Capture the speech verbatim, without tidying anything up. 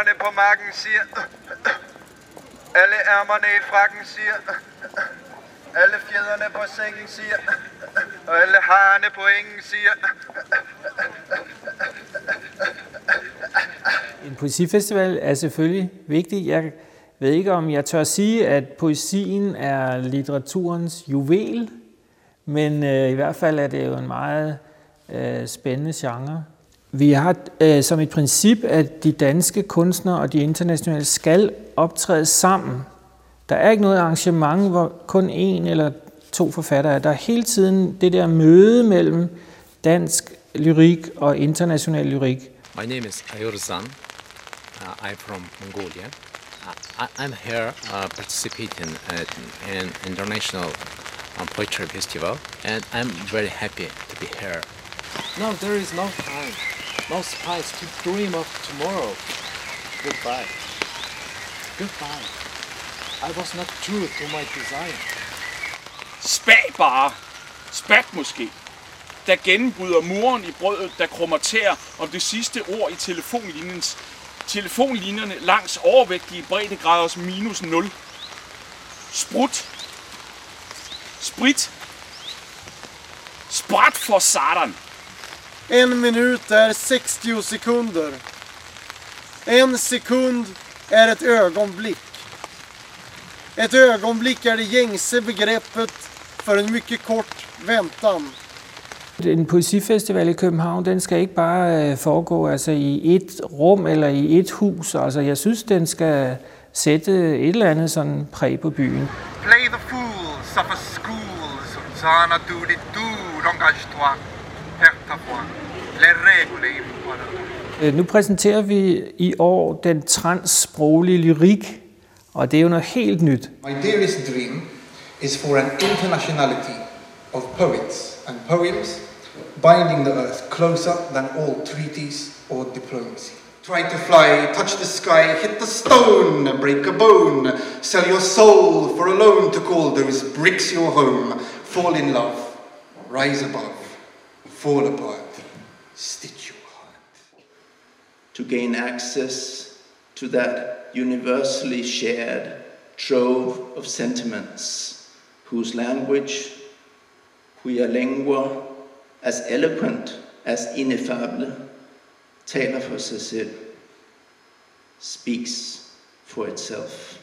Hænderne på marken siger. Alle ærmerne i frakken siger. Alle fjederne på sengen siger. Og alle harerne på engen siger. En poesifestival er selvfølgelig vigtig. Jeg ved ikke, om jeg tør sige, at poesien er litteraturens juvel, men øh, i hvert fald er det jo en meget øh, spændende genre. Vi har øh, som et princip, at de danske kunstnere og de internationale skal optræde sammen. Der er ikke noget arrangement, hvor kun en eller to forfattere er. Der er hele tiden det der møde mellem dansk lyrik og international lyrik. My name is Ayur Zan. Uh, I'm from Mongolia. Uh, I'm here uh, participating at an international um, poetry festival, and I'm very happy to be here. No, there is no time, no space to dream of tomorrow. Goodbye. Goodbye. I was not true to my desire. Spag bare. Spat måske. Der gennembryder muren i brødet, der krummer tær om det sidste ord i telefonlinjens telefonlinjerne langs overvægtige breddegraders minus nul. Sprut. Sprit. Sprat for satan. En minut är sextio sekunder. En sekund är ett ögonblick. Ett ögonblick är det gängse begreppet för en mycket kort väntan. En poesifestival i København, den skal ikke bare foregå altså, i et rum eller i et hus. Altså, jeg synes, den skal sætte et eller andet sådan præg på byen. Play the fools of a school, Zana dudi du, l'engage-toi, perte-toi, les règles impossibles. Nu præsenterer vi i år den transsproglige lyrik, og det er jo noget helt nyt. My dearest dream is for an internationality of poets and poems, binding the earth closer than all treaties or diplomacy. Try to fly, touch the sky, hit the stone, break a bone, sell your soul for a loan to Calder's, bricks your home, fall in love, rise above, fall apart, stitch your heart. To gain access to that universally shared trove of sentiments, whose language, cuya lengua, as eloquent as ineffable, taler for sig selv, speaks for itself.